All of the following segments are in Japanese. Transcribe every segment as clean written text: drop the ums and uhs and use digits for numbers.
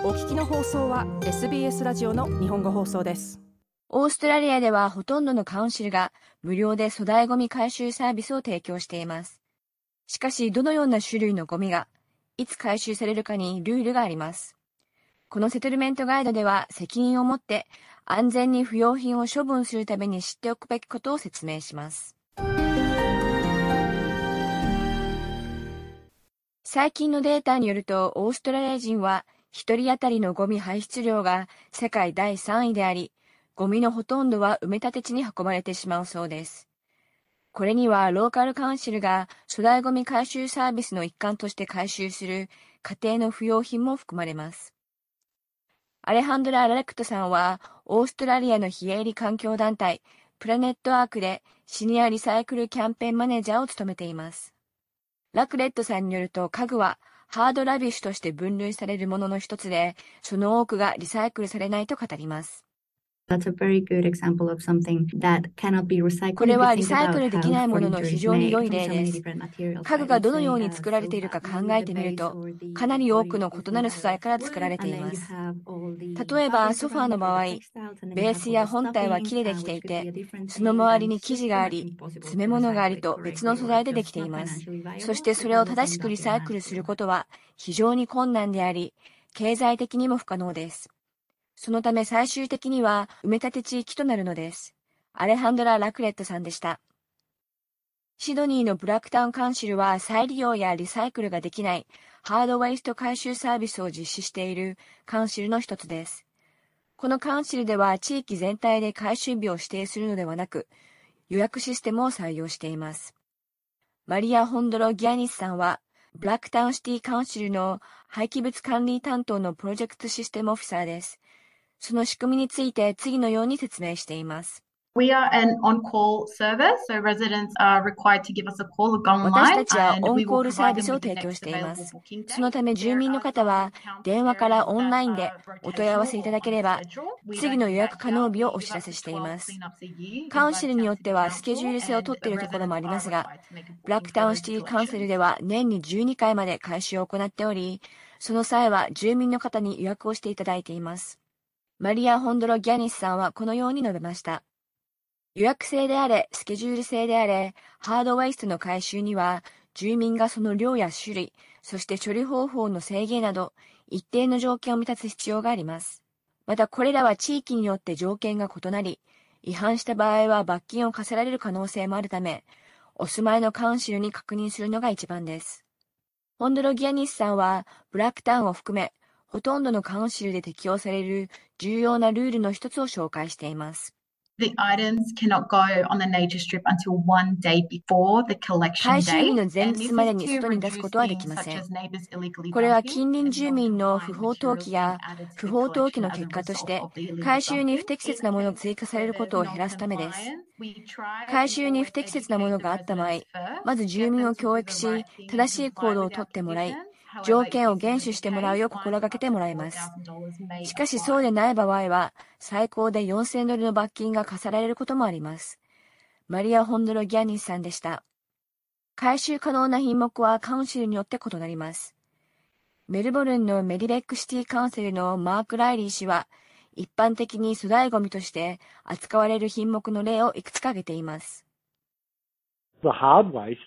お聞きの放送は SBS ラジオの日本語放送です。 オーストラリアではほとんどのカウンシルが無料で粗大ゴミ回収サービスを提供しています。しかし、どのような種類のゴミがいつ回収されるかにルールがあります。このセトルメントガイドでは責任を持って安全に不要品を処分するために知っておくべきことを説明します。最近のデータによると、オーストラリア人は1人当たりのゴミ排出量が世界第3位であり、ゴミのほとんどは埋め立て地に運ばれてしまうそうです。これにはローカルカウンシルが粗大ゴミ回収サービスの一環として回収する家庭の不要品も含まれます。アレハンドラ・ラレクトさんはオーストラリアの非営利環境団体プラネットアークでシニアリサイクルキャンペーンマネージャーを務めています。ラクレットさんによると、家具はハードラビッシュとして分類されるものの一つで、その多くがリサイクルされないと語ります。これはリサイクルできないものの非常に良い例です。家具がどのように作られているか考えてみると、かなり多くの異なる素材から作られています。例えばソファーの場合、ベースや本体は木でできていて、その周りに生地があり、詰め物がありと別の素材でできています。そしてそれを正しくリサイクルすることは非常に困難であり、経済的にも不可能です。そのため最終的には埋め立て地域となるのです。アレハンドラ・ラクレットさんでした。シドニーのブラックタウンカウンシルは再利用やリサイクルができないハードウェイスト回収サービスを実施しているカウンシルの一つです。このカウンシルでは地域全体で回収日を指定するのではなく、予約システムを採用しています。マリア・ホンドロ・ギアニスさんは、ブラックタウンシティカウンシルの廃棄物管理担当のプロジェクトシステムオフィサーです。その仕組みについて次のように説明しています。 We are an on-call service, so residents are required to give us a call or go online. 私たちはオンコールサービスを提供しています。そのため住民の方は電話からオンラインでお問い合わせいただければ次の予約可能日をお知らせしています。カウンシルによってはスケジュール制を取っているところもありますが、ブラックタウンシティカウンセルでは年に12回まで回収を行っており、その際は住民の方に予約をしていただいています。マリア・ホンドロ・ギャニスさんはこのように述べました。予約制であれ、スケジュール制であれ、ハードウェイストの回収には、住民がその量や種類、そして処理方法の制限など、一定の条件を満たす必要があります。また、これらは地域によって条件が異なり、違反した場合は罰金を課せられる可能性もあるため、お住まいのカウンシルに確認するのが一番です。ホンドロギアニスさんは、ブラックタウンを含め、ほとんどのカウンシルで適用される重要なルールの一つを紹介しています。 The items cannot go on the nature strip until one day before the collection 回収日 date. の前日までに外に出すことはできません。これは近隣住民の不法投棄や不法投棄の結果として回収に不適切なものが追加されることを減らすためです。回収に不適切なものがあった場合、まず住民を教育し、正しい行動をとってもらい、条件を厳守してもらうよう心がけてもらいます。しかしそうでない場合は、最高で$4000の罰金が課せられることもあります。マリア・ホンドロ・ギャニスさんでした。回収可能な品目はカウンシルによって異なります。メルボルンのメディベックシティカウンセルのマーク・ライリー氏は、一般的に粗大ゴミとして扱われる品目の例をいくつか挙げています。 ハードウェイ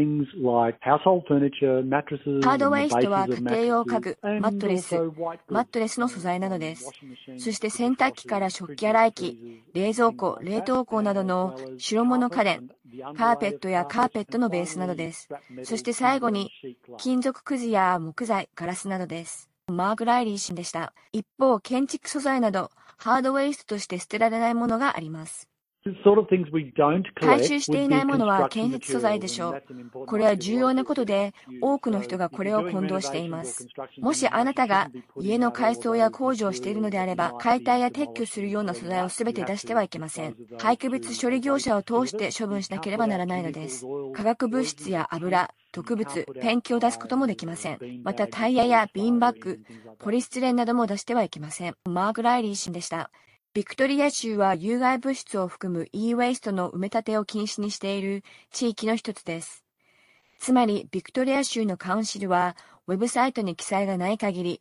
ストは家庭用家具、マットレスの素材などです。そして洗濯機から食器洗い機、冷蔵庫、冷凍庫などの白物家電、カーペットやカーペットのベースなどです。そして最後に金属くずや木材、ガラスなどです。マーク・ライリー氏でした。一方、建築素材などハードウェイストとして捨てられないものがあります。回収していないものは建設素材でしょう。これは重要なことで、多くの人がこれを混同しています。もしあなたが家の改装や工事をしているのであれば、解体や撤去するような素材をすべて出してはいけません。廃棄物処理業者を通して処分しなければならないのです。化学物質や油、毒物、ペンキを出すこともできません。またタイヤやビーンバッグ、ポリスチレンなども出してはいけません。マーク・ライリー氏でした。ビクトリア州は有害物質を含む e-waste の埋め立てを禁止にしている地域の一つです。つまり、ビクトリア州のカウンシルは、ウェブサイトに記載がない限り、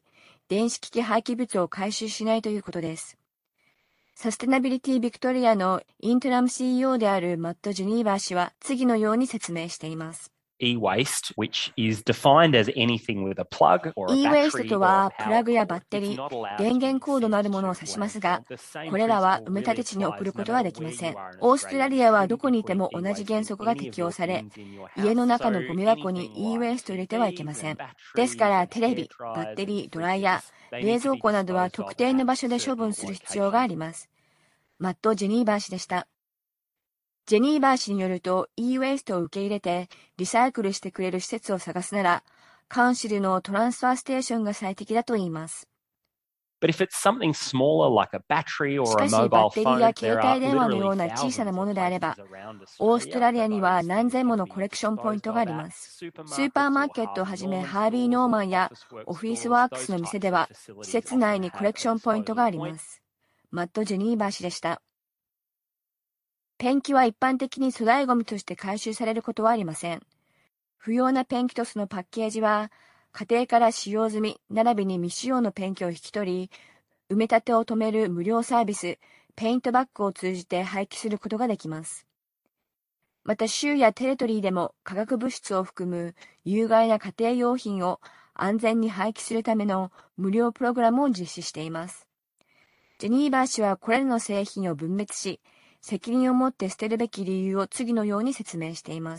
電子機器廃棄物を回収しないということです。サステナビリティビクトリアのイントラム CEO であるマット・ジェニーバー氏は次のように説明しています。 E-waste, which is defined as anything with a plug or a E-waste battery と or は a プラグ power や cord バッテリ is ー、 not allowed 電 to 源 be コードのあるものを sent 指 to しますが、 landfill. The same これらは principle 埋め立て really 地に送る applies こと no は matter できま where せ you ん。 are in オーストラ Australia. リ You アはど shouldn't こ be にいて putting も同じ E-waste 原 in 則が any 適 of 用 your され、 bins in your 家 house. の中の So ゴミ箱に anything E-waste を入れ like てはいけま TVs せん。 and ですか batteries ら and テレ hair ビ、バッ dryers テ and リー、ドライヤ fridges, ー、 they 冷 need to 蔵 be 庫などは disposed 特 of 定の at 場所で処 certain 分する必要があり locations. ます。マット・ジェニーバー氏でした。ジェニーバー氏によると E-waste を受け入れてリサイクルしてくれる施設を探すなら、カウンシルのトランスファーステーションが最適だと言います。 But if it's something smaller like a battery し or か a し、バッ mobile テリーや phone, 携 there 帯 are 電話のよう literally な小さな thousands も of のであれば、 places around オースト Australia ラリア for には those 何 things 千も to の be コレクションポイン disposed トがあ of り at ます。スー supermarkets パーマー or ケットを Harvey はじめ Norman ハービー・ stores ノー or マンや Officeworks オフィス stores. ワークス Those の店 types で of は、施 facilities 設 often 内にコレ have ク a ションポイントがあ disposal りま point. す。マット・ジェニーバー氏でした。ペンキは一般的に粗大ゴミとして回収されることはありません。不要なペンキとそのパッケージは、家庭から使用済み並びに未使用のペンキを引き取り、埋め立てを止める無料サービス、ペイントバッグを通じて廃棄することができます。また州やテレトリーでも化学物質を含む有害な家庭用品を安全に廃棄するための無料プログラムを実施しています。ジェニーバー氏はこれらの製品を分別し、責任を持って捨てるべき理由を次のように説明しています。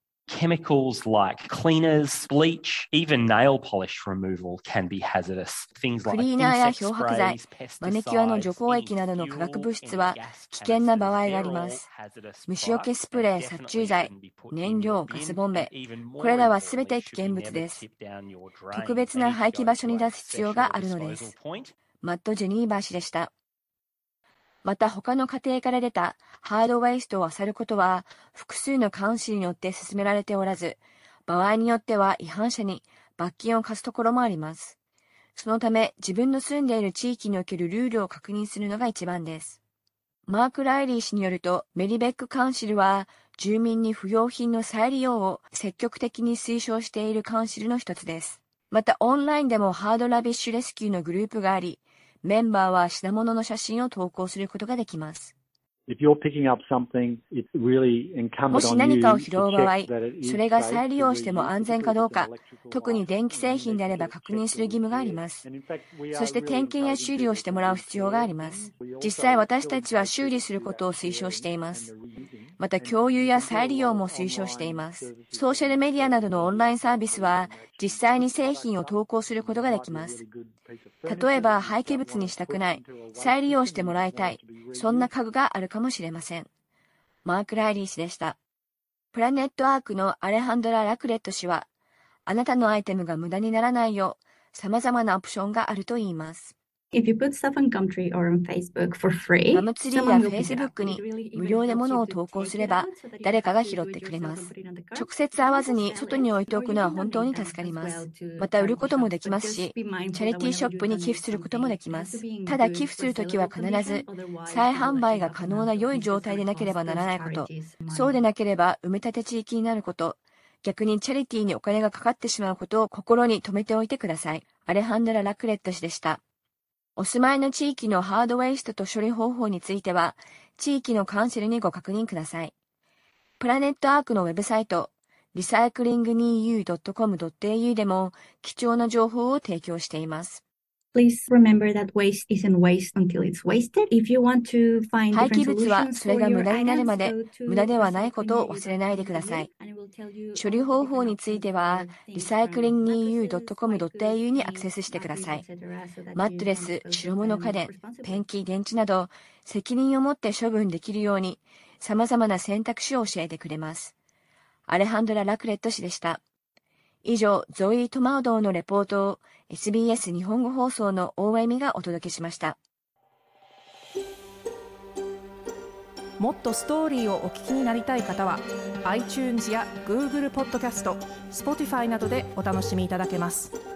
Chemicals like cleaners, bleach, even nail polish removal can be hazardous. Things ク like リーナーや insect 漂白剤、 sprays, マニキュアの除 pesticides, 光 any 液などの化学 fuel, 物質 any は gas 危険な場合 canisters, があり they're ま all す。 hazardous 虫除け products スプ and レー、殺 definitely 虫剤、 shouldn't be put 燃 in 料、 your ガス bin ボン and ベ、 even これ more らはすべ importantly て危 should 険 be 物 never です。 tipped down your 特 drain. 別 They な need to 廃棄 go 場所 to に a 出す必要があ special るので disposal す。 point. マット・ジェニーバー氏でした。また他の家庭から出たハードウェイストを漁ることは複数のカウンシルによって進められておらず、場合によっては違反者に罰金を課すところもあります。そのため自分の住んでいる地域におけるルールを確認するのが一番です。マーク・ライリー氏によると、メリベックカウンシルは住民に不要品の再利用を積極的に推奨しているカウンシルの一つです。またオンラインでもハードラビッシュレスキューのグループがあり、メンバーは品物の写真を投稿することができます。もし何かを拾う場合、それが再利用しても安全かどうか、特に電気製品であれば確認する義務があります。そして点検や修理をしてもらう必要があります。実際私たちは修理することを推奨しています。また共有や再利用も推奨しています。ソーシャルメディアなどのオンラインサービスは実際に製品を投稿することができます。例えば廃棄物にしたくない、再利用してもらいたい、そんな家具があるかもしれません。マーク・ライリー氏でした。プラネットアークのアレハンドラ・ラクレット氏は、あなたのアイテムが無駄にならないよう、様々なオプションがあると言います。 If you put stuff on Gumtree or on Facebook for free, ガムツリーや Facebook に無料で物を投稿すれば誰かが拾ってくれます。直接会わずに外に置いておくのは本当に助かります。また売ることもできますし、チャリティーショップに寄付することもできます。ただ寄付するときは必ず再販売が可能な良い状態でなければならないこと、そうでなければ埋め立て地域になること、逆にチャリティーにお金がかかってしまうことを心に留めておいてください。アレハンドラ・ラクレット氏でした。お住まいの地域のハードウェイストと処理方法については、地域のカウンセルにご確認ください。プラネットアークのウェブサイト、recyclingnew.com.au でも貴重な情報を提供しています。 Please remember that waste isn't waste until it's wasted. If you want to find 廃棄 different 物は solutions それ for が your 無駄になるまで items, go 無駄 to ではないことを忘れないでください。処理方法については recyclingnew.com.au にアクセスしてください。マットレス、白物家電、ペンキ、電池など責任を持って処分できるように様々な選択肢を教えてくれます。アレハンドラ・ラクレット氏でした。以上、ゾイ・トマウドーのレポートを SBS 日本語放送の大江美がお届けしました。 もっとストーリーをお聞きになりたい方は iTunes や Google ポッドキャスト、Spotify などでお楽しみいただけます。